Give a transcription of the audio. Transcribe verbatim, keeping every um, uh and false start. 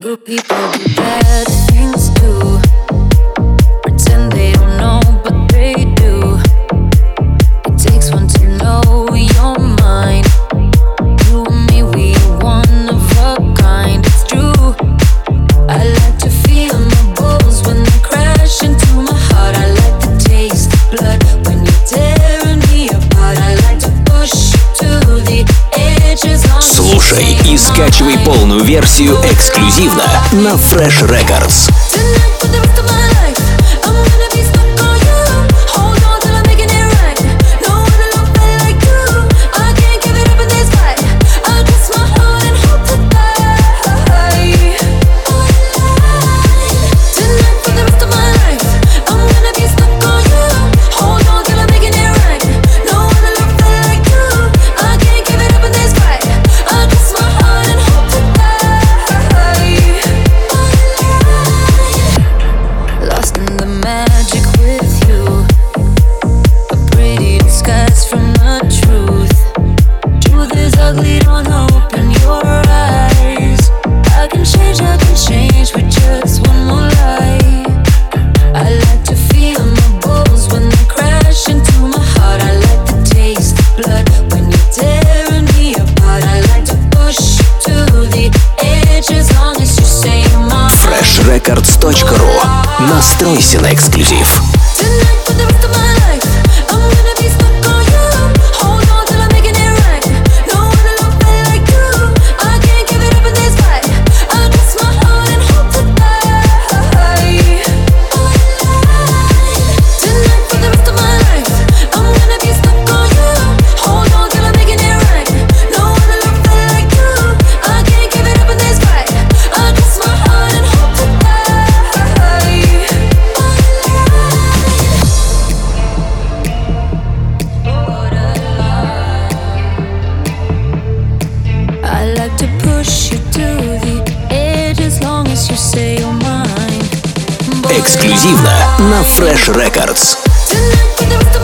Good people do bad things too. Pretend they don't know, but they do. It takes one to know your mind. You and me, we are one of a kind. It's true. I like to feel my balls when they crash into my heart. I like to taste the blood when you're tearing me apart. I like to push you to the edges. Слушай и скачивай полную версию эксклюзивно на Fresh Records. фреш рекордс точка ру. Настройся на эксклюзив. Эксклюзивно на Fresh Records.